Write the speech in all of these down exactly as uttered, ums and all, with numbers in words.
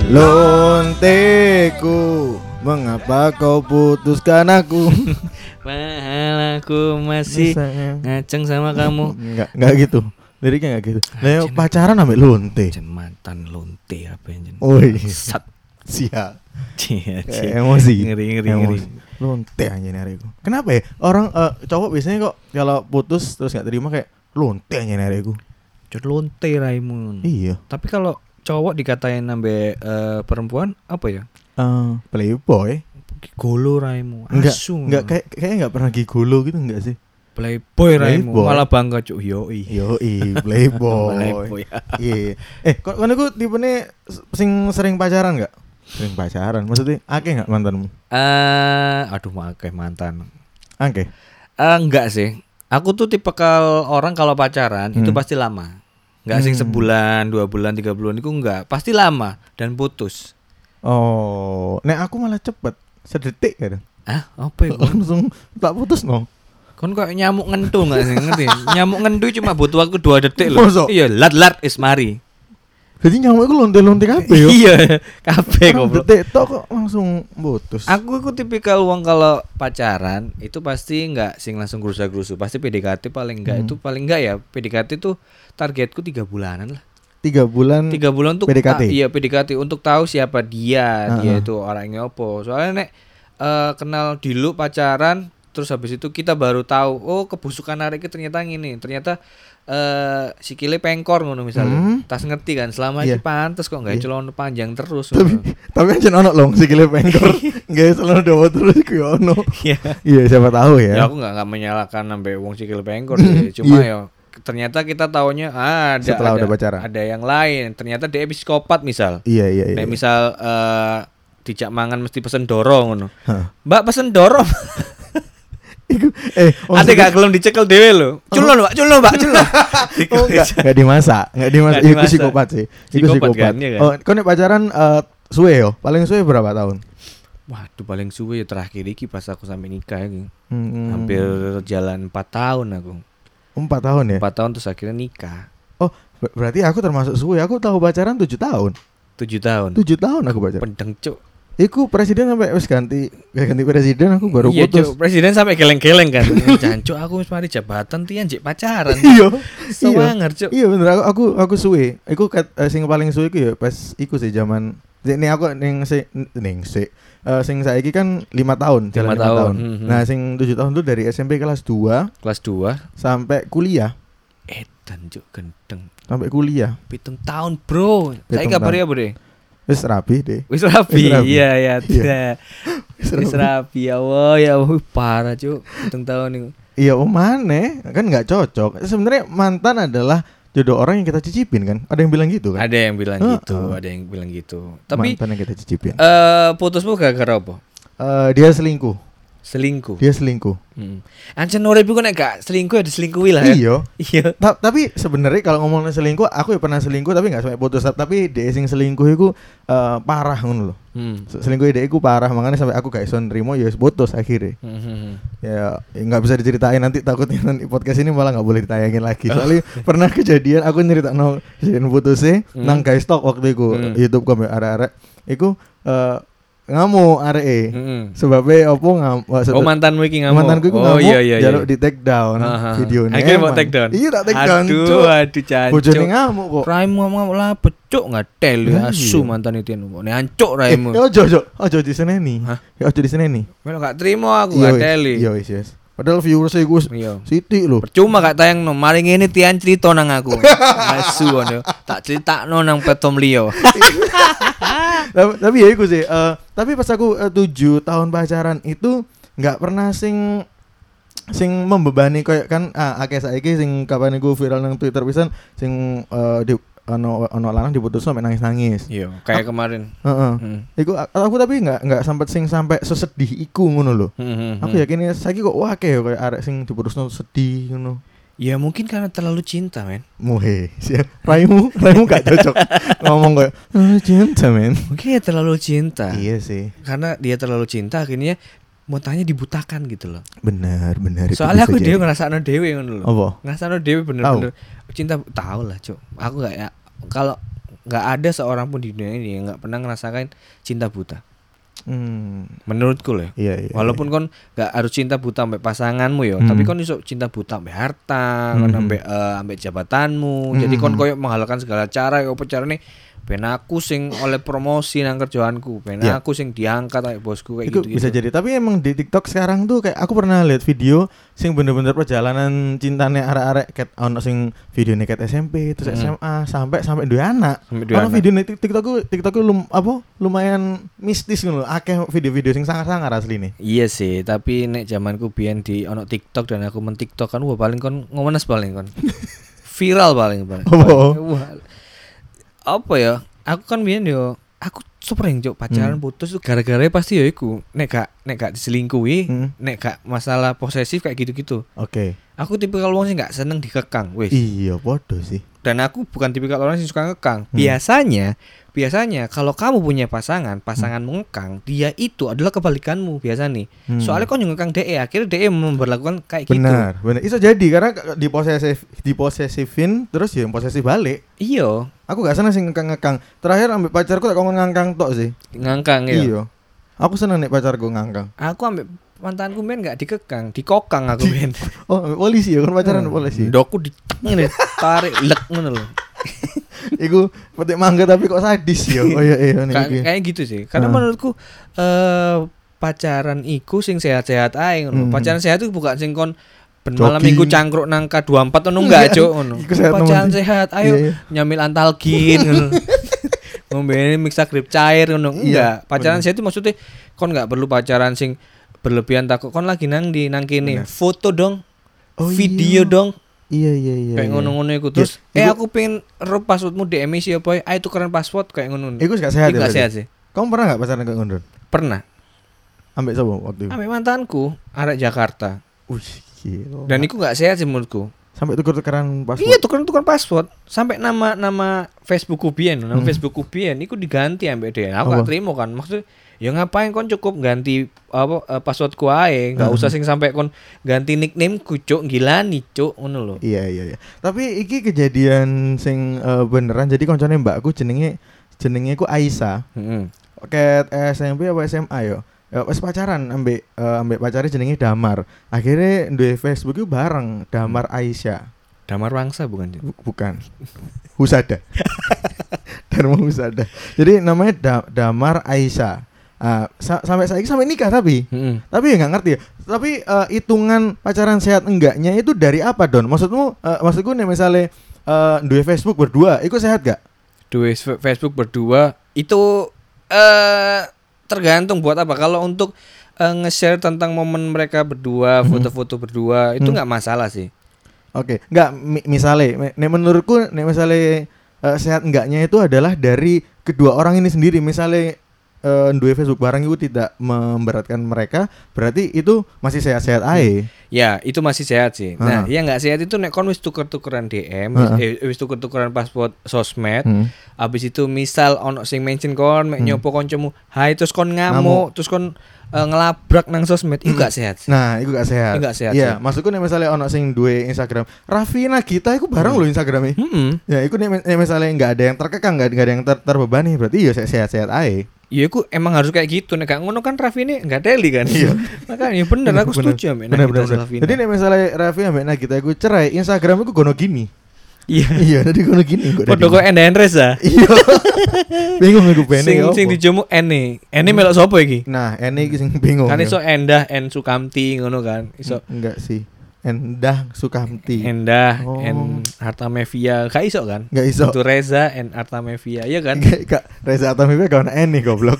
Lonteku, mengapa kau putuskan aku? Mahal aku masih ngaceng sama kamu. Enggak, enggak gitu. Liriknya enggak gitu. Lah pacaran ambek lonte. Mantan lonte apa yang Oi. Sat. Siap. Cia, Eh, emosi. Ngeri ngeri ngeri. Lonte anjir hariku. Kenapa ya? Orang uh, cowok biasanya kok kalau putus terus enggak terima kayak lonte anjir hariku. Jod lonte raimu. Iya. Tapi kalau cowok dikatain ambek uh, perempuan apa ya? Uh, playboy. Golo raimu. Enggak, Asu. enggak kayak kayak enggak pernah gigolo gitu enggak sih? Playboy raimu. Playboy. Malah bangga cuk. Yoi. Yoi, playboy. Playboy. Iya. Eh, kok kono iku tipene sing sering pacaran enggak? Sering pacaran. Maksudnya akeh enggak mantanmu? Eh, uh, aduh akeh mantan. Akeh. Uh, enggak sih. Aku tuh tipikal orang kalau pacaran hmm. itu pasti lama. Enggak sing Hmm. sebulan, dua bulan, tiga bulan itu enggak. Pasti lama dan putus. Oh, nek aku malah cepet. Sedetik kadang. Ah, apa itu? Langsung tak putus no. Kon kok nyamuk ngentu enggak sih ngerti? Nyamuk ngentu cuma butuh waktu dua detik loh. Masa? Iya, lat-lat is mari. Jadi nyamuk iku lonte-lonte kabeh yo. Iya, kabeh Orang goblok. detik tok kok langsung putus. Aku iku tipikal wong kalau pacaran itu pasti enggak sing langsung gerusa-gerusu. Pasti P D K T paling enggak Hmm. itu paling enggak ya. P D K T tuh targetku tiga bulanan lah. Tiga bulan. Tiga bulan untuk P D K T? ta- iya P D K T untuk tahu siapa dia, Uh-uh. dia itu orangnya opo. Soalnya nek uh, kenal dulu pacaran, terus habis itu kita baru tahu, oh kebusukan arek iki ternyata ngene. Ternyata uh, sikile pengkor ngono misalnya. Hmm. Tas ngerti kan, selama Iya. iki pantes kok enggak Iya. celana panjang terus. Tapi tapi aja ono loh sikile pengkor. Enggak selalu dawa terus ku yo ono. Iya. Iya, siapa tahu ya. Ya aku enggak enggak menyalahkan sampai wong sikile pengkor sih. Cuma Iya. ya ternyata kita taunya ah, ada Setelah ada, udah pacaran. ada yang lain. Ternyata dia psikopat misal. Iya, iya, iya. Nek misal uh, dijak mangan mesti pesen dorong ngono. Hah. Mbak pesen dorong. Iku eh Ada gak gelem dicekel dhewe lho. Culun, Mbak, culun, Mbak, culun. Oh, enggak, enggak dimasak, enggak dimasak. Nggak Iku dimasak. psikopat sih. Iku Psikopat psikopat. kan, iya kan? Oh, kau nek pacaran eh, suwe yo. Paling suwe berapa tahun? Waduh paling suwe ya terakhir iki pas aku sampai nikah iki. Hmm, Hampir jalan empat tahun aku. empat tahun ya. empat tahun terus akhirnya nikah. Oh, ber- berarti aku termasuk suwe. Aku tahu pacaran tujuh tahun. tujuh tahun. tujuh tahun aku pacaran. Pedeng, Cuk. Iku presiden sampai wis ganti ganti presiden aku baru Iya, putus. Cuk. Presiden sampai geleng-geleng kan. Jancuk aku wis mari jabatan tian jek pacaran. Iya. Sewanger, Cuk. Iya bener aku aku aku suwe. Iku kat, eh, sing paling suwe iku ya pas iku sih zaman ini aku ning si ning si eh, sing saiki kan lima tahun, jalan Lima lima tahun. tahun. Hmm, hmm. Nah, sing tujuh tahun tuh dari S M P kelas dua Kelas dua. sampai kuliah, Edan, Cuk, gendeng. sampai kuliah. Pitung tahun, Bro. Saya Pitung kabar tahun. ya, Bre. Wis rapi deh. Wis rapi. Wis rapi. Iya, iya. Iya. Wis Wis rapi ya Allah, ya Allah, parah, Cuk. Pitung tahun niku. Iya, oh mana? Kan nggak cocok. Sebenarnya mantan adalah jodoh orang yang kita cicipin kan. Ada yang bilang gitu kan? Ada yang bilang Heeh. gitu, ada yang bilang gitu. Tapi mantan yang kita cicipin. eh putusmu gara-gara apa? Eh, dia selingkuh. Selingkuh. Dia selingkuh. Heeh. Ancen urip iku nek gak selingkuh ya diselingkuhi lah ya. Iya. Iya. Ta- tapi sebenarnya kalau ngomongin selingkuh, aku ya pernah selingkuh tapi nggak sampai putus. Tapi dia sing selingkuh itu eh, parah ngono loh. Hmm. Se- Selingkuh dia itu parah, makanya sampai aku gak iso nrimo ya wis putus akhirnya. Hmm. Ya ya nggak bisa diceritain nanti, takutnya nanti podcast ini malah nggak boleh ditayangin lagi. Soalnya pernah kejadian aku nyeritakno kejadian putusnya Hmm. nang guys talk waktu itu Hmm. YouTube kami arek-arek. Iku eh, ngamuk arek e. Heeh. Sebabnya opo ngam maksud- Oh mantanmu iki ngamuk. mantanku iku Oh ngamuk, iya iya iya. jaluk di take down Aha. videonya. Akhirnya mau emang. take down. Iya tak take down. Aduh, Cuk. aduh jancuk. Bojone ngamuk kok. Raimu ngomong lah pecuk ngatel ya Lah, asu iya. mantan itu nu. Ne ancuk Eh, raimu. ya ojo ojo ojo diseneni. Hah? Ya ojo diseneni. Melo gak terima aku Iya, wis. ngateli. Iya wis yes. Padahal viewersnya iku Iya. sithik lho. Percuma gak tayang no. Mari ngene tian cerita nang aku. Asu ngono. Tak critakno nang platform liya. tapi, tapi ya iku sih eh, tapi pas aku eh, tujuh tahun pacaran itu nggak pernah sing sing membebani kayak kan ah, akeh saiki sing kapan iku viral nang Twitter pisan sing eh, di ono ono lanang diputus sampai nangis-nangis. Iya, kayak kemarin. Heeh. Hmm. Iku a- aku tapi nggak nggak sampai sing sampai sesedih iku ngono lho. Hmm, hmm, Aku hmm. yakin ya saiki kok wah kayak kayak arek sing diputusno sedih ngono. Ya mungkin karena terlalu cinta, men. Muhe, siap. Raimu, raimu gak cocok ngomong kayak "Ah, cinta men." Mungkin ya terlalu cinta. Iya sih, Karena dia terlalu cinta akhirnya motanya dibutakan gitu loh. benar benar. itu Soalnya bisa aku jadi. dhewe ngrasakno dhewe ngono lho. Apa? Ngrasakno dhewe bener-bener cinta tahu lah, Cuk. Aku enggak ya kalau nggak ada seorang pun di dunia ini yang nggak pernah ngerasakan cinta buta. Hmm. Menurutku loh. Iya, iya. Walaupun iya. kon nggak harus cinta buta sampai pasanganmu ya, Hmm. tapi kon iso cinta buta sampai harta, Hmm. kon sampai uh, sampai jabatanmu. Hmm. Jadi kon koyo menghalalkan segala cara, yo apa carane ben aku sing oleh promosi nang kerjaanku, ben Ya. aku sing diangkat kayak bosku kayak Itu gitu-gitu. bisa jadi. Tapi emang di TikTok sekarang tuh kayak aku pernah lihat video sing bener-bener perjalanan cintanya arek-arek ket ono sing videone ket S M P terus Hmm. S M A sampai sampai duwe anak. Sampai duwe Ono anak. video nih TikTok TikTok lum, apa lumayan mistis ngono. Akeh video-video sing sangar-sangar asline. Iya sih, tapi nek zamanku biyen di ono TikTok dan aku men TikTok kan wah paling kon ngomenes paling kon. Viral paling paling. Oh. Wah. Apa ya? Aku kan biyen yo aku sering cuk pacaran Hmm. putus tuh gara-gara pasti ya iku nek gak nek gak diselingkuhi, Hmm. nek gak masalah posesif kayak gitu-gitu. Oke. Aku tipikal wong sing gak seneng dikekang, wis. Iya, bodoh sih. Dan aku bukan tipikal orang yang suka ngekang. Hmm. Biasanya, biasanya kalau kamu punya pasangan, pasangan mengekang, dia itu adalah kebalikanmu biasa nih. Hmm. Soalnya kau ngekang D E, akhirnya D E memperlakukan kayak gitu. Benar, benar. Iso jadi karena di posesif di posesifin terus ya posesif balik. Iya, Aku gak seneng sing ngekang-ngekang. Terakhir ambek pacarku tak ngomong ngangkang tok sih. ngangkang ya. Iya. Aku seneng nek pacarku ngangkang. Aku ambek mantanku men gak dikekang, dikokang aku men. Oh, ambek polisi ya, kan pacaran ambek polisi. Ndokku di ngene tarik lek ngono lho. Iku petik mangga tapi kok sadis ya. Oh iya iya nih. Ka- iki. Kayak gitu sih. Karena Ah. menurutku eh pacaran iku sing sehat-sehat ae ngono. Hmm. Pacaran sehat itu bukan sing kon ben Jogging. malam minggu cangkruk nang K dua puluh empat ngono enggak, Enggak. Cuk, ngono. Iku sehat Pacaran nemen. sehat, ayo Iya, iya. nyamil antalgin ngono. Ngombe mixagrip cair ngono. Iya, Enggak. Pacaran bener. sehat itu maksudnya kon enggak perlu pacaran sing berlebihan takut kon lagi nang di nang kene. Bener. Foto dong. Oh, Video iya. dong. Iya iya iya. Kayak iya. ngono-ngono iku. Terus Ya, eh iku- aku pengen ro passwordmu D M isi apa? Ayo tukeran password kayak ngono. Iku gak sehat Iku ya. gak berarti? sehat sih. Kamu pernah gak pacaran kayak ngono? Pernah. Ambek sapa waktu itu? Ambek mantanku arek Jakarta. Wih, gila. Dan itu nggak sehat sih menurutku. sampai tuker-tukeran password. Iya tukeran-tukeran password. Sampai nama nama Facebookku biyen, nama Hmm. Facebookku biyen iku diganti ambek dia. Aku Apa? gak terima kan. Maksudnya ya ngapain kon cukup ganti apa eh, passwordku ae, enggak Hmm. usah sing sampai kon ganti nicknameku cuk, gila nih cuk ngono lho. Iya iya iya. Tapi iki kejadian sing eh, beneran. Jadi koncone mbakku jenenge jenenge ku Aisyah. Heeh. Ket S M P apa S M A yo. Ya wis pacaran ambek eh, ambek pacare jenenge Damar. Akhirnya duwe Facebook itu bareng Damar Aisyah. Damar Wangsa bukan? Cuk? Bu- bukan. Husada. Dharma Husada. Jadi namanya Da- Damar Aisyah. Ah, sa- sampai saiki sampai nikah tapi Heeh. tapi ya nggak ngerti ya. Tapi eh, hitungan pacaran sehat enggaknya itu dari apa Don? Maksudmu eh, maksudku nih misalnya eh, duwe Facebook berdua, itu sehat gak? Duwe f- Facebook berdua itu eh tergantung buat apa. Kalau untuk eh, nge-share tentang momen mereka berdua, Hmm. foto-foto berdua itu Hmm. nggak masalah sih. Oke, nggak mi- misalnya, me- nek menurutku nek misalnya eh, sehat enggaknya itu adalah dari kedua orang ini sendiri. Misalnya eh, duwe Facebook bareng itu tidak memberatkan mereka, berarti itu masih sehat-sehat aja. Ya, itu masih sehat sih. Nah, Heeh. yang nggak sehat itu nek kon wis tuker-tukeran D M, Heeh. eh, wis tuker-tukeran password sosmed, Hmm. habis itu misal ono sing mention kon, mek Hmm. nyopo kancamu, "Hai," terus kon Ngamuk. ngamuk, terus kon eh, ngelabrak nang sosmed, itu Hmm. gak sehat sih. Nah, itu gak sehat. Itu nggak sehat Iya, sih. maksudku nek misalnya ono sing duwe Instagram, Raffi Nagita itu bareng Hmm. loh Instagramnya. Heeh. Ya, itu nek nek misalnya nggak ada yang terkekang, nggak nggak ada yang ter- terbebani, berarti ya se- sehat-sehat aja. Ya aku emang harus kayak gitu. Nek gak ngono kan Raffi ini enggak teli kan. Iya. Makanya bener aku setuju ambek Bener Nagita bener. bener. Slavina. Jadi nek misalnya Raffi ambek Nagita iku cerai, Instagram iku gono gini. Iya. Iya, tadi gono gini kok. Padha kok Enda Endres ah. Iya. Bingung aku bene. Sing ya sing apa. dijomu Ene. Ene melok sapa iki? Nah, ini iki sing bingung. Kan ya. iso Endah En Sukamti ngono kan. Iso enggak sih. Endah Sukamti. Endah Oh. En Artamevia. Gak iso kan? Enggak iso. Itu Reza En Artamevia, iya kan? Enggak, Kak. Reza Atamivia kawan Eni goblok.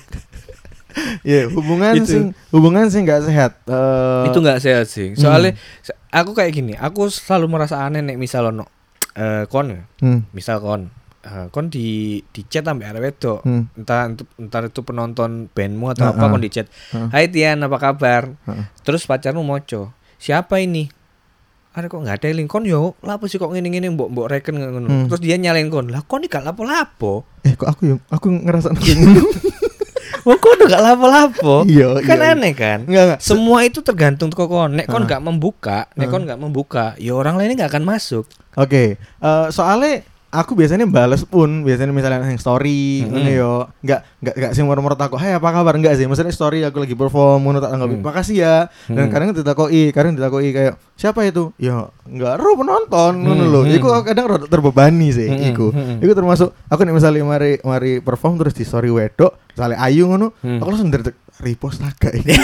Iya, hubungan Itu. sing hubungan sing enggak sehat. Eh, Itu enggak sehat sih. Soalnya se- aku kayak gini, aku selalu merasa aneh nek misal ono eh kon, hmm, misal kon eh, kon di di chat sampai arek wedok. hmm, Entah itu entar itu penonton bandmu atau apa Heeh. kon di chat. Heeh. Hai Tian, apa kabar? Heeh. Terus pacarmu moco. Siapa ini? Ada kok nggak ada link kon yo. Lapo sih kok ngene-ngene mbok mbok reken ngono. Hmm. Terus dia nyalain kon. Lah kon iki gak lapo-lapo. Eh kok aku yang aku ngerasa ngono. Wong kon udah gak lapo-lapo. Iya, Kan iya. aneh kan? Enggak enggak. Semua itu tergantung kok kon. Nek kon Ah. gak membuka, nek Ah. kon gak membuka, ya orang lainnya gak akan masuk. Oke, eh, soalnya aku biasanya bales pun biasanya misalnya yang story ngono Mm-hmm. yo. Enggak enggak enggak sing moro-moro takok, "Hai, apa kabar?" Enggak sih. Maksudnya story aku lagi perform ngono tak tanggapi, Mm. "Makasih ya." Dan Mm. kadang ditakoki, kadang ditakoki kayak, "Siapa itu?" Ya, enggak ero penonton ngono Mm. lho. Mm. Iku kadang rada terbebani sih Mm. iku. Mm. Iku termasuk aku nek misalnya mari mari perform terus di story wedok, misalnya Ayu ngono, Mm. aku langsung dari repost agak ini.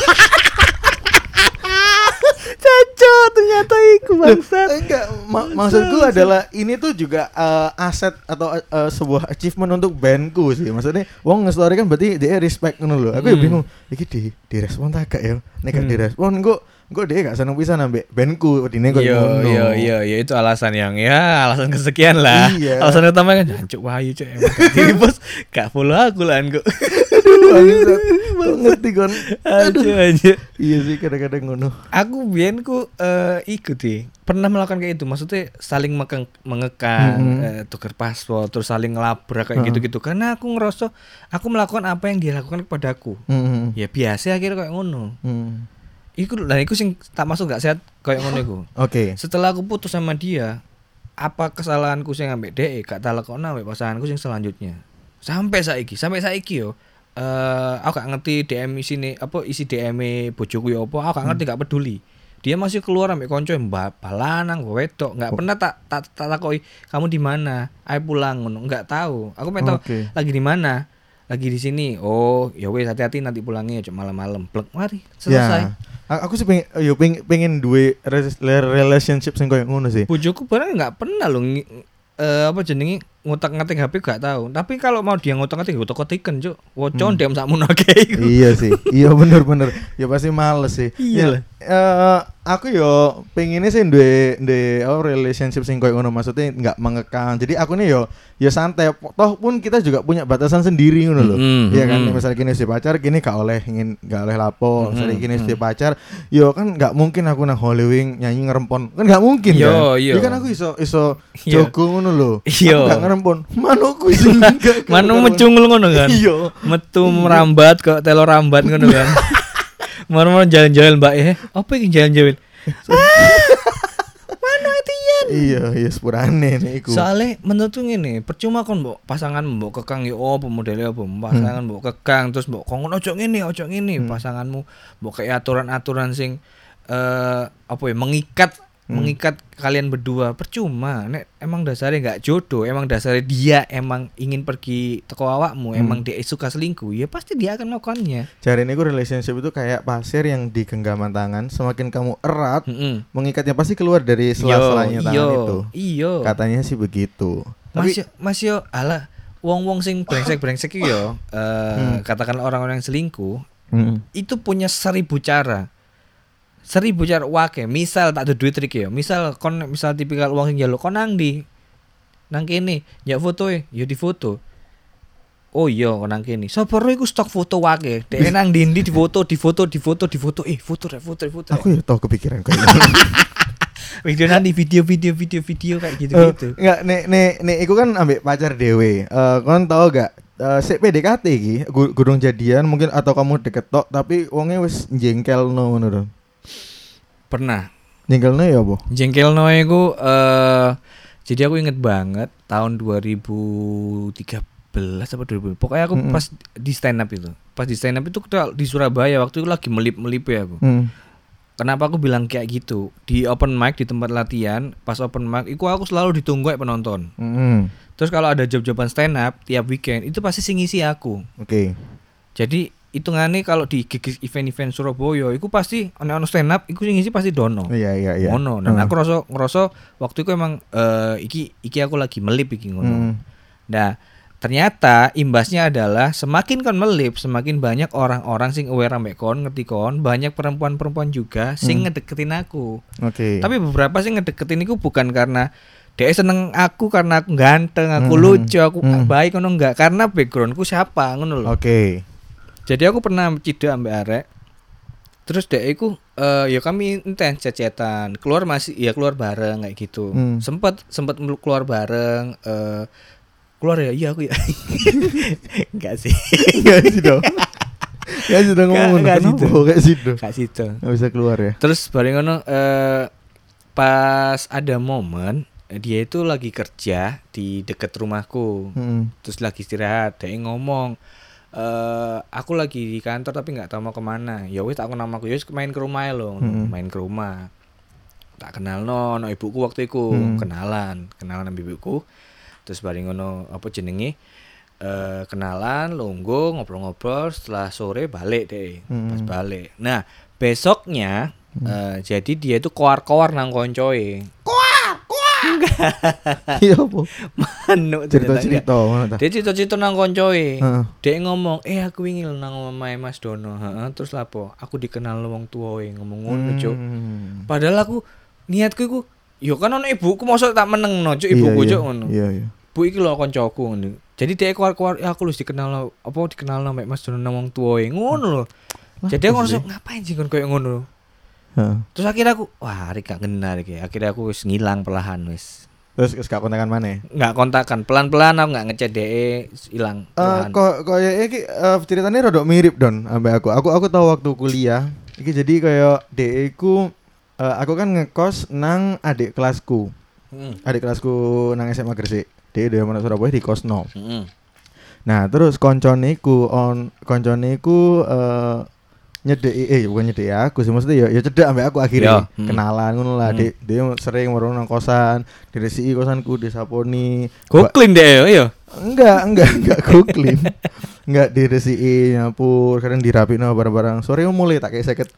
Cocok ternyata iku bangsat. Enggak, ma- maksudku adalah ini tuh juga uh, aset atau uh, sebuah achievement untuk bandku sih. Maksudnya wong nge-story kan berarti dia respect ngono lho. Aku ya Hmm. bingung, iki di direspon tak gak ya? Nek gak Hmm. direspon engko engko dia gak seneng pisan ambek bandku dine kok Iya ngono. iya iya iya itu alasan yang ya alasan kesekian lah. Iya. Alasan utama kan jancuk Wahyu cek emang gak di bos gak follow aku lah kok. Bangsat. Kok ngerti kon? Aduh aja. Iya sih kadang-kadang ngono. Aku biyen ku eh, ikut deh. Pernah melakukan kayak itu. Maksudnya saling mekeng, mengekang, Mm-hmm. eh, tukar password, terus saling ngelabrak kayak Heeh. gitu-gitu. Karena aku ngerasa aku melakukan apa yang dia lakukan kepadaku. Heeh. Ya biasa akhirnya kayak ngono. Hmm. Iku lah iku sing tak masuk gak sehat kayak ngono iku. Oke. Setelah aku putus sama dia, apa kesalahanku sing ambek dhek gak tak lakoni ambek pasanganku sing selanjutnya. Sampai saiki, sampai saiki yo. Eh aku gak ngerti D M isine apa isi D M-e bojoku yo apa, aku gak ngerti gak peduli. Dia masih keluar ambek konco mbak balanang wedok, nggak pernah tak tak tak takoki kamu di mana, ayo pulang ngono, nggak tahu. Aku pengen tahu Oke. lagi di mana, lagi di sini. Oh ya wes hati-hati nanti pulangnya cuma malam-malam. Plek mari selesai. Ya. A- Aku sih pengen, yo pengen, pengen duwe res- relationship sing koyo ngono sih. Bojoku barang nggak pernah loh ngi- eh, apa jenenge ngutak-ngatik H P gak tahu. Tapi kalau mau dia ngutak-ngatik ngutak-ngatiken, Cuk. Wocon Hmm. dem sakmono akeh iku. Iya sih, iya bener-bener. Ya pasti males sih. Iya Ya, lah. eh, aku yo pengennya sih duwe duwe oh, relationship sing koyo ngono, maksudnya nggak mengekang. Jadi aku nih yo yo santai. Toh pun kita juga punya batasan sendiri ngono loh. Mm-mm, Iya kan, mm-mm. misalnya gini si pacar, gini gak oleh ingin gak oleh lapo. Misalnya Mm-mm, gini si mm. pacar, yo kan nggak mungkin aku nang Hollywood nyanyi ngerempon, kan nggak mungkin Iya, kan. iya. Jadi kan aku iso iso Iya. jogo ngono loh. Iya. Aku gak ngerempon, manukku iso nggak Manu ngerempon. mecungul ngono kan. Iya. Metu merambat kok telo rambat ngono kan. Mau-mau jalan-jalan Mbak eh. Apa iki jalan-jalan? Manu etian. Iya, iya sepurane nih iku. Soalnya menurutku ngene, percuma kon mbok pasangan mbok kekang yo apa modele apa pasangan mbok kekang terus mbok kon ojo ngene ojo ngene Hmm. pasanganmu mbok kayak aturan-aturan sing eh apa ya mengikat Hmm. mengikat kalian berdua percuma nek emang dasarnya nggak jodoh emang dasarnya dia emang ingin pergi teko awakmu Hmm. emang dia suka selingkuh ya pasti dia akan melakukannya. Cari ini relationship itu kayak pasir yang di genggaman tangan, semakin kamu erat, Heeh. mengikatnya pasti keluar dari sela-selanya tangan itu. Iyo. Katanya sih begitu. Tapi Mas yo, mas yo, ala wong-wong sing brengsek-brengsek iki yo, eh Hmm. katakanlah orang-orang yang selingkuh, Mm. itu punya seribu cara. Seribu cara wake. Misal tak ada duit trik ya. Misal kon misal tipikal wong sing njaluk kon nang ndi? Nang kene, nyak foto e, yo di foto. Oh iya kon nang kene. Sapa ro iku stok foto wake. Dek nang ndi di foto, di foto, di foto, di foto. Eh, foto rek, foto rek, foto. Aku ya tau kepikiran kayak gitu. Video nanti video-video video-video kayak Eh, gitu-gitu. Enggak, nek nek nek iku kan ambek pacar dewe. Eh kon tau gak eh sik P D K T iki, gu- gurung jadian mungkin atau kamu deket tok tapi wonge wis jengkelno ngono lho. Pernah. Jengkelno ya apa? Jengkelno iku eh jadi aku inget banget tahun dua ribu tiga belas apa dua ribu. Pokoknya aku Mm-mm. pas di stand up itu. Pas di stand up itu kita di Surabaya waktu itu lagi melip-melip ya aku. Hmm. Kenapa aku bilang kayak gitu? Di open mic di tempat latihan, pas open mic iku aku selalu ditunggu kayak penonton. Mm. Terus kalau ada job-joban stand up tiap weekend itu pasti sing ngisi aku. Oke. Jadi hitungannya kalau di gig event-event Surabaya iku pasti ono-ono stand up iku sing ngisi pasti Dono. Iya iya iya. Ngono. Dan Hmm. aku ngerasa ngerasa waktu itu emang eh, iki iki aku lagi melip iki ngono. Hmm. Nah, ternyata imbasnya adalah semakin kon melip, semakin banyak orang-orang sing aware ambek kon, ngerti kon, banyak perempuan-perempuan juga sing Hmm. ngedeketin aku. Oke. Tapi beberapa sing ngedeketin iku bukan karena dia seneng aku karena aku ganteng, aku Hmm. lucu, aku Hmm. baik ngono enggak, karena backgroundku siapa ngono lho. Oke. Jadi aku pernah cidak ambek arek. Terus dek iku eh ya kami intens cecetan. Keluar masih ya keluar bareng kayak gitu. Hmm. Sempet sempet melu- keluar bareng eh keluar ya iya aku ya. Enggak sih. Enggak sih dong. Enggak sih dong ngomong. Nggak Kenapa situ. kayak situ? Enggak situ. Enggak bisa keluar ya. Terus bareng ngono eh pas ada momen dia itu lagi kerja di dekat rumahku. Hmm. Terus lagi istirahat, dia ngomong, eh aku lagi di kantor tapi nggak tahu mau kemana. Ya wis tak kenal aku, ya wis main ke rumah lo, Hmm. main ke rumah. Tak kenal no, no ibuku waktu itu Hmm. kenalan, kenalan sama ibuku. Terus bareng ngono apa jenenge? Eh kenalan, lungguh, ngobrol-ngobrol. Setelah sore balik deh, Hmm. pas balik. Nah besoknya, eh, jadi dia itu koar-koar nang koncoe. Iya apa? Manuk Cerita-cerita ngono ta. Dia cerita-cerita nang koncoe. Heeh. Dia ngomong, "Eh aku wingi lho nang omahe Mas Dono." Heeh, terus lapo? Aku dikenal wong tuwae ngomong ngono, Cuk. Hmm. Padahal aku niatku iku yo kan ono ibuku mosok tak menengno, Cuk, Iya, ibuku iya. Cuk ngono. Iya iya. Bu iki lho koncoku ngono. Jadi dia keluar-keluar, "Ya aku lu dikenal apa dikenal nang Mas Dono nang wong tuwae." Ngono lho. Lah, Jadi aku terus ngerasa ngapain sih kon koyo ngono. Heeh. Terus akhirnya aku, wah, hari gak kenal iki. Akhirnya aku wis ngilang perlahan wis. Terus wis gak kontakan maneh. Nggak kontakan, pelan-pelan aku nggak ngechat D E, hilang. Eh perlahan. kok koyo iki eh, ceritanya rada mirip Don ambek aku. Aku aku tahu waktu kuliah. Iki jadi koyo D E ku eh, aku kan ngekos nang adik kelasku. Mm. Adik kelasku nang S M A Gresik. D E dari mana Surabaya di kosno. Mm-mm. Nah, terus koncone ku on koncone ku eh nyedeki eh bukan nyedeki aku sih maksudnya ya ya cedek ambek aku akhirnya Ya, hmm. kenalan ngono lah. Hmm. Dia, dia sering merono nang kosan, diresiki kosanku, disaponi. Googling deh, iya. Enggak, enggak, enggak googling. Enggak diresiki nyampur, kadang dirapino barang-barang. Sore mulai tak kayak seket.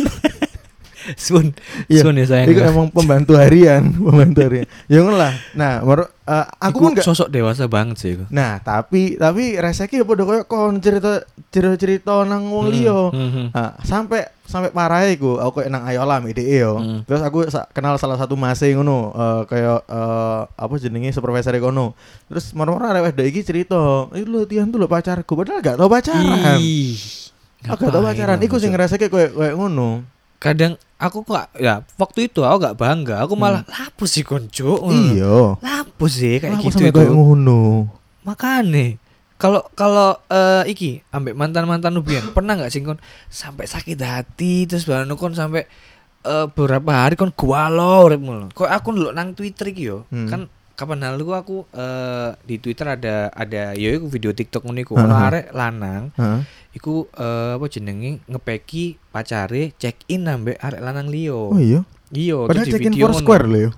Sun, Iya. sun ya sayang. Itu emang pembantu harian, pembantu harian. Ya ngono lah. Nah, baru eh, aku Iku pun enggak. sosok dewasa banget sih. Iku. Nah, tapi tapi reseki padha koyo kon cerita cerita-cerita nang wong liya. Hmm. Nah, sampai sampai parah iku aku kayak nang Ayola M D E yo. Hmm. Terus aku sa- kenal salah satu mase ngono, eh, kayak eh, apa jenenge supervisor kono. Terus moro-moro arek wedok iki cerita, "Iki lho Tian tuh lho pacarku." Padahal gak tau pacaran. Ih, Aku gak tau ngapain pacaran. Iku sing maksud? ngrasake koyo koyo ngono. Kadang aku kok ya waktu itu aku gak bangga, aku malah lapo sih konco. Iya. Lapo sih kayak Aku gitu sampe itu. koyo ngono. Makane kalau kalau eh, iki ambek mantan-mantan Nubian pernah nggak sih kon sampai sakit hati terus baru kon sampai eh, beberapa hari kon gualo uripmu lho. Kok aku ndelok nang Twitter iki yo. Hmm. Kan kapan lalu aku eh, di Twitter ada ada yo iku video TikTok ngono iku Heeh. ono arek lanang Heeh. iku eh, apa jenenge ngepeki pacare check in ambek arek lanang liyo. Oh iya. Iya, Padahal terus di check in video four square lho yo.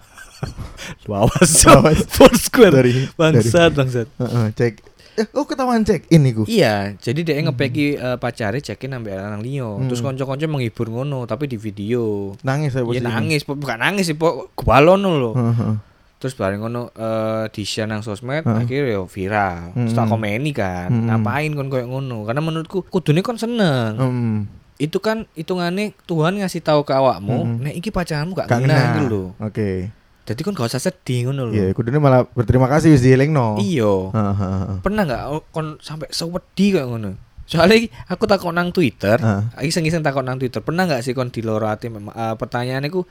Lawas. Lawas. Foursquare. Dari Bangsat, bangsat. Heeh, cek. Eh, oh ketahuan check in iku. Iya, jadi dia ngepeki uh, pacare cekin ambek lanang liyo. Hmm. Terus kanca-kanca menghibur ngono, tapi di video. Nangis saya Iya posisi. nangis, po- bukan nangis sih, pok gebalono lho. Heeh, heeh. Terus bareng ngono eh di-share nang sosmed, Heeh. akhirnya yo viral. Terus Hmm. tak komeni kan, Hmm. ngapain kon koyo ngono? Karena menurutku kudune kon seneng. Hmm. Itu kan hitungane Tuhan ngasih tahu ke awakmu, Hmm. nek iki pacarmu gak Gak kena kena. gitu lho. Oke. Jadi kon gak usah sedih ngono lho. Iya, kudune malah berterima kasih wis dielingno. Iya. Heeh, heeh. Pernah nggak oh, kon sampai sewedi kayak ngono? Soalnya iki aku takut nang Twitter, Heeh. iseng-iseng takut nang Twitter. Pernah nggak sih kon di loro ati memang uh, pertanyaan iku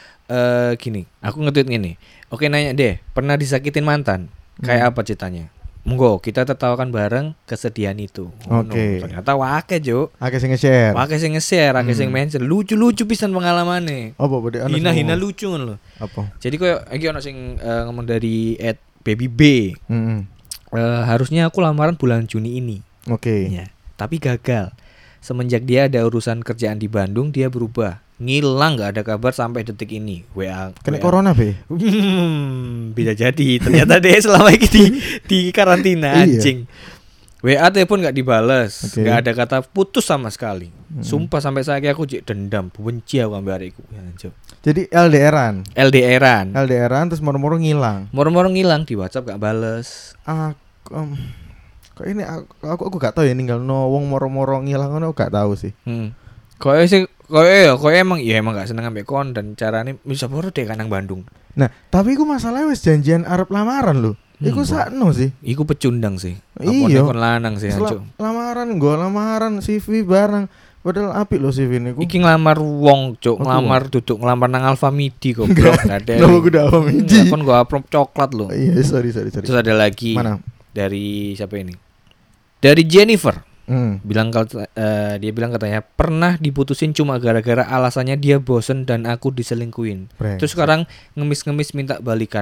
eh gini, aku nge-tweet gini. Oke nanya deh, pernah disakitin mantan? Kayak apa ceritanya? Monggo kita tertawakan bareng kesedihan itu. Ngono. Oke. Ternyata wake, Juk. Akeh sing nge-share. Wake sing nge-share, wake sing mention. Lucu-lucu pisan pengalamane. Apa bode ana sing Hina-hina ngomong? lucu ngono lho. Apa? Jadi koyo iki ono sing eh, ngomong dari at baby B. Heeh. Eh, harusnya aku lamaran bulan Juni ini. Oke. Ya, tapi gagal. Semenjak dia ada urusan kerjaan di Bandung, dia berubah. Ngilang nggak ada kabar sampai detik ini. W A. Kena W A. corona, Be. Hmm, bisa jadi. Ternyata dia selama ini di, di karantina Iya. anjing. W A telepon nggak dibales, Oke. nggak ada kata putus sama sekali. Mm. Sumpah sampai saat aku jek dendam, benci aku ambil hariku. Ya, anjir. Jadi L D R-an. L D R-an. L D R-an terus moro-moro ngilang. Moro-moro ngilang di WhatsApp gak bales. Aku em, kok ini aku aku, aku gak tahu ya ninggal no wong moro-moro ngilang ngono aku gak tahu sih. Hmm. Koe sih, koe ya, koe emang ya emang gak seneng ambek kon dan carane bisa baru deh kan nang Bandung. Nah, tapi iku masalahnya wis janjian arep lamaran lho. Iku Hmm, sakno sih. Iku pecundang sih. Iya. Apone kon lanang sih Sela- anjuk. lamaran gua lamaran C V barang. Padahal apik lho C V niku. Iki ngelamar wong, Cuk, Aku ngelamar duduk ngelamar nang Alfamidi goblok. Gak ada. Kenapa kudu Alfamidi? Kon gua approve coklat loh. Iya, sorry sorry sorry. Terus ada lagi Mana? dari siapa ini? Dari Jennifer. Hmm. Bilang kata- eh, dia bilang katanya pernah diputusin cuma gara-gara alasannya dia bosen dan aku diselingkuin. Brengsek. Terus sekarang ngemis-ngemis minta balikan.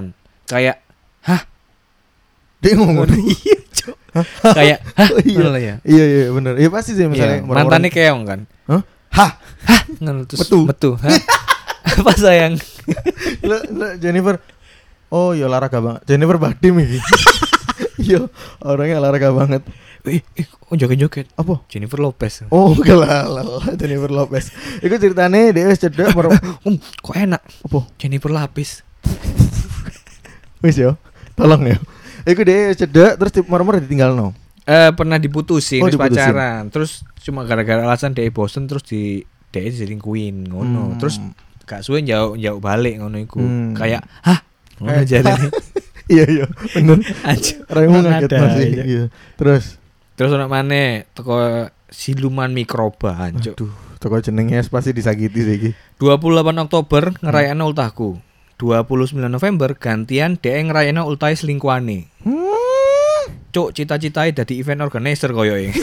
kayak hah Dia ngomong iya cok kayak hah Oh, iya. ngono ya iya iya bener. Iya pasti sih misalnya iya, mantannya keong kan Hah? Hah? hah ngono terus Metu. metu hah apa sayang Lo, lo Jennifer. Oh, ya olahraga banget. Jennifer Badim iki. Iya, orangnya olahraga banget. eh eh kok joget-joget Apa? Jennifer Lopez Oh, kelala Jennifer Lopez. Iku ceritane dia wis cedek mer- um, kok enak apa? Jennifer Lapis Wis yo. Tolong ya. Iku dia wis cedek terus di mer-mer ditinggalno. eh pernah diputusin Oh, terus diputusin. pacaran terus cuma gara-gara alasan dia bosen terus di dia diselingkuhin ngono Hmm. terus gak suwe jauh jauh balik ngono iku Hmm. kayak hah ngono Eh. jadi Iya iya, bener. Anjir. Raimu Nggak ngaget ada, masih. iya. Iya. Terus terus ono maneh teko siluman mikroba anjuk aduh, toko jenenge pasti disakiti sih iki. dua puluh delapan Oktober ngerayakno ultahku dua puluh sembilan November gantian dhek ngerayakno ultahe selingkuhane Hmm. cuk cita-citae dadi event organizer koyoke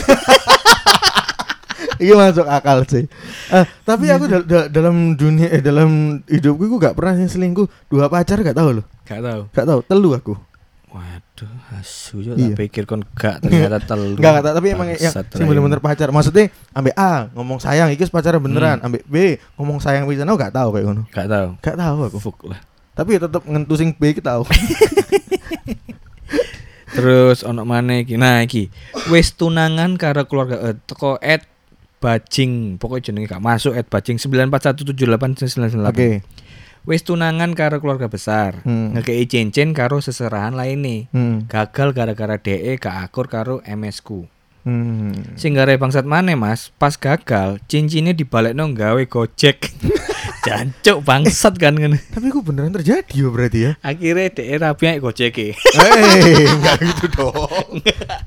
Iya masuk akal sih. Eh, tapi aku dal- dal- dalam dunia eh dalam hidupku aku gak pernah yang selingkuh dua pacar gak tahu loh. gak tahu Gak tahu, telu aku. waduh asu yo Iya. tak pikir kon gak ternyata telu Enggak enggak tapi emang yang Bangsat, sing bener-bener pacar. Maksudnya ambek A ngomong sayang iki pacaran beneran, ambek B ngomong sayang pisan aku gak tahu kayak ngono. gak tahu Gak tahu aku. Fuk lah Tapi ya tetep ngentu sing B iki tahu. terus ono maneh iki nah iki wis tunangan karo keluarga eh, teko at bajing pokoknya jenenge gak masuk at bajing sembilan empat satu tujuh delapan sembilan sembilan delapan Oke. wis tunangan karo keluarga besar Hmm. ngekei cincin karo seserahan lainnya Hmm. gagal gara-gara D E gak akur karo M S ku Hmm. sing gare bangsat maneh mas pas gagal cincinnya dibalekno gawe gojek jancuk bangsat kan ngene Tapi kok beneran terjadi ya berarti ya? akhirnya D E rapi ae gojeke Eh, enggak gitu dong.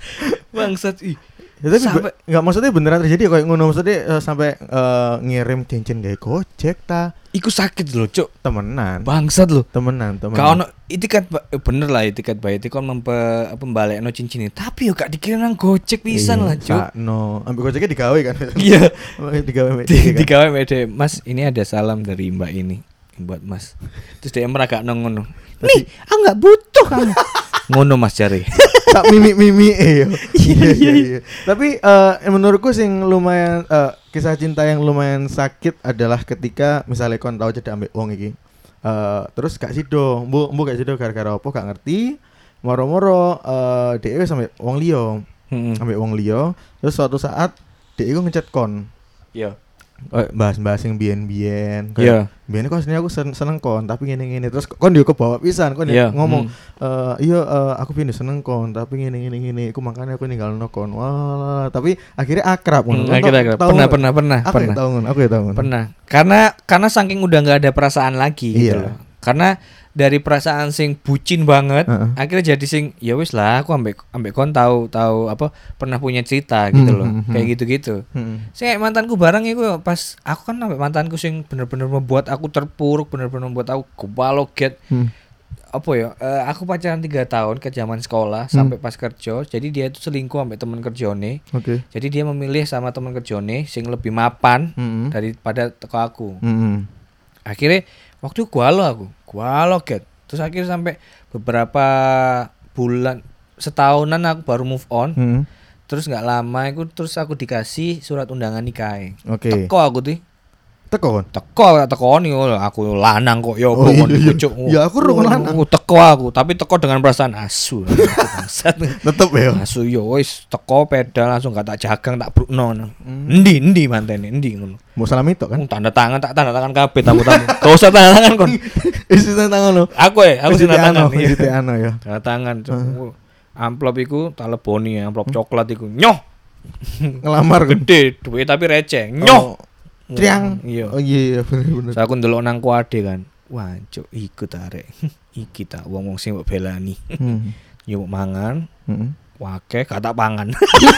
bangsat ih Ya, tapi Sampai- be- nggak maksudnya beneran terjadi kayak ngono maksudnya eh, sampai eh, ngirim cincin kayak Gojek ta iku sakit lho cuk temenan bangsat lho temenan temenan. Kau ono itikat ba- eh, bener lah itikat bayi itu kan mempe pembalekno cincin ini. Tapi yo gak dikirim nang Gojek pisan lah, Cuk. No, ambil Gojeknya digawe kan. Iya. digawe mek Di, kan. digawe mede, Mas, ini ada salam dari Mbak ini buat Mas. Terus dia meragak nang ngono. Nih, aku enggak butuh kamu. Ngono Mas jare. Tak mimi-mimi eh. yo. Iya iya iya. Tapi eh, menurutku sing lumayan eh, kisah cinta yang lumayan sakit adalah ketika misalnya kon tau cedak ambek wong iki. Eh, terus gak sido, mbu mbu gak sido gara-gara apa gak ngerti. Moro-moro eh dhewe sampe wong liya, Heeh. ambek wong liya, terus suatu saat dhek iku ngechat kon. Iya. Oh, bahas-bahas yang biyen-biyen Iya. biyen kok aslinya aku sen- seneng kon tapi ngene-ngene terus kon yo kebawa pisan kon Iya, ngomong hmm. eh iya eh, aku pindah seneng kon tapi ngene-ngene ngene iku makanya aku ninggalno kon wah tapi akhirnya akrab Hmm, ngono. Kon akhirnya tau- akhirnya. tau Pernah, nggak? pernah, pernah, aku pernah. ya tahu ngono, aku ya tahu ngono. Pernah. Karena karena saking udah nggak ada perasaan lagi gitu Iya. loh. Karena dari perasaan sing bucin banget, Heeh. akhirnya jadi sing ya wis lah aku ambek ambek kon tahu tahu apa pernah punya cerita gitu Hmm, loh. hmm, hmm. Kayak gitu-gitu. Heeh. Sing kayak mantanku bareng iku pas aku kan ambek mantanku sing bener-bener membuat aku terpuruk, bener-bener membuat aku kebaloget. Hmm. Apa ya? eh, aku pacaran tiga tahun ke zaman sekolah Hmm. sampai pas kerja. Jadi dia itu selingkuh ambek teman kerjone. Oke. Jadi dia memilih sama teman kerjone sing lebih mapan Heeh. daripada teko aku. Heeh. Akhirnya waktu itu gua lo aku gua lo get terus akhirnya sampai beberapa bulan setahunan aku baru move on Heeh. terus nggak lama itu terus aku dikasih surat undangan nikah Oke. teko aku tuh Teko kon. teko teko nih oh, aku lanang kok yo Oh, iya, kon iya. kucuk. Ya, aku rukun lanang. Oh, teko aku tapi teko dengan perasaan asu bangsat Tetep ya. asu yo wis teko pedal langsung gak tak jagang tak brukno Hmm. endi endi mantene endi ngono Mau salam itu kan. Oh, tanda tangan tak tanda tangan kabeh tamu-tamu gak usah tanda tangan kon Isi tangan lo. aku ya aku sih tanda tangan iya. Isi ano ya. tanda tangan Cuk. Amplop iku tak leboni amplop coklat iku nyoh Ngelamar kan. gede duit tapi receh nyoh Oh, Triang. iya Oh iya bener-bener. terus aku ndelok nang kuade kan wah cuk iku tarik iki ta wong-wong sing mbok belani Hmm. yo mbok mangan Heeh. wake gak tak pangan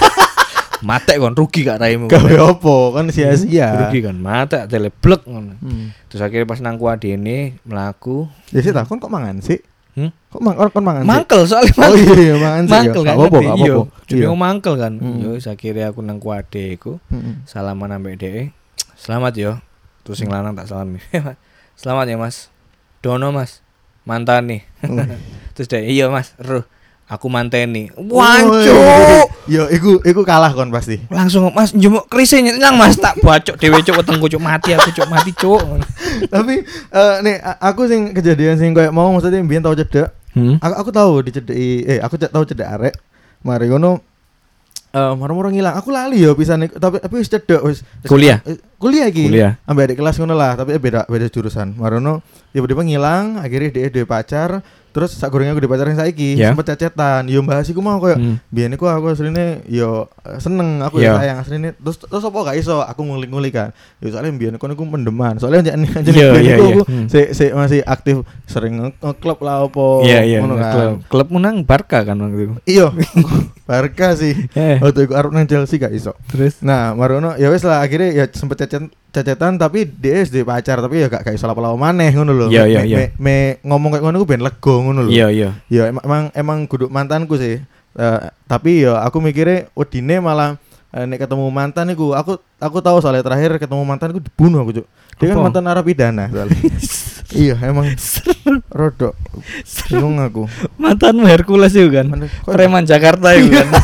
matek kon rugi gak raimu Gawe opo kan sia-sia. rugi kan matek teleblek ngono Hmm. terus akhirnya pas nang kuadene mlaku Ya sih takon kok mangan sih? Hmm? Kok mang kon mangan sih? mangkel soalnya Oh mangkel iya mangan sih. mangkel ya. kan Gak apa-apa, ngerti? gak Iya, apa-apa. jenenge Iya. mangkel kan Mm. yo wis akhirnya aku nang kuade iku Mm-mm. salaman ambek dhek selamat yo terus sing lanang tak salami selamat ya mas Dono mas mantan nih. Terus dia, iya Mas, ruh, aku manteni. Oh, Wancuk. Yo, iku iku kalah kon pasti. Langsung Mas njemuk krise nyang Mas tak bacok dhewe cuk wetengku cuk mati aku cuk mati cuk. Tapi eh nih a- aku sing kejadian sing koyo mau maksudnya mbiyen tau cedek. Hmm? Aku aku tahu dicedeki eh aku cek tahu cedek arek. Mari ngono eh moro-moro ngilang. Aku lali yo pisan iku, tapi tapi wis cedek wis wis- Kuliah? eh, kuliah iki. Kuliah. Ambek adik kelas ngono lah, tapi beda beda jurusan. Marono tiba-tiba ngilang, akhirnya dia duwe pacar. Terus sak gorenge aku di pacaran saiki, Ya. sempet cecetan. Yo bahas iku mau koyo Hmm. biyen iku aku asline yo eh, seneng, aku Iya. ya sayang asline. Terus terus apa gak iso aku ngulik-ngulik kan. Yo soalnya biyen kono iku mendeman. Soalnya anjane anjane Iya, biyen iya, iku iya. aku Hmm. si, si masih aktif sering nge- nge-klub lah apa Iya iya. ngono kan. Klub, klub menang Barca kan waktu itu. Iya. Barca sih. Eh. Waktu iku arep nang Chelsea gak iso. Terus Nah, marono ya wis lah akhirnya ya sempet cecet cecetan tapi D S D pacar tapi ya gak gak iso lapo-lapo maneh ngono lho. Iya, Me- iya, me- iya. me- me ngomong kayak ngono ku ben lega ngono lho. iya iya. Ya emang emang, emang kudu mantanku sih. Eh, tapi ya aku mikirnya wedine malah eh, nek ketemu mantan iku aku aku tahu soalnya terakhir ketemu mantanku dibunuh aku, Cuk. Dia kan Apa? mantan narapidana soalnya. Iya, emang rodok. Bingung aku. Mantanmu Hercules itu kan. Mana- kok- Preman Jakarta itu kan.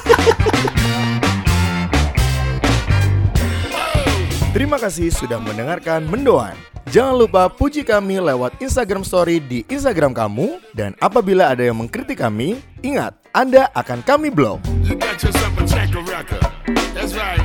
Terima kasih sudah mendengarkan Mendoan. Jangan lupa puji kami lewat Instagram Story di Instagram kamu. Dan apabila ada yang mengkritik kami, ingat, Anda akan kami blok. You got yourself a checker record. That's right.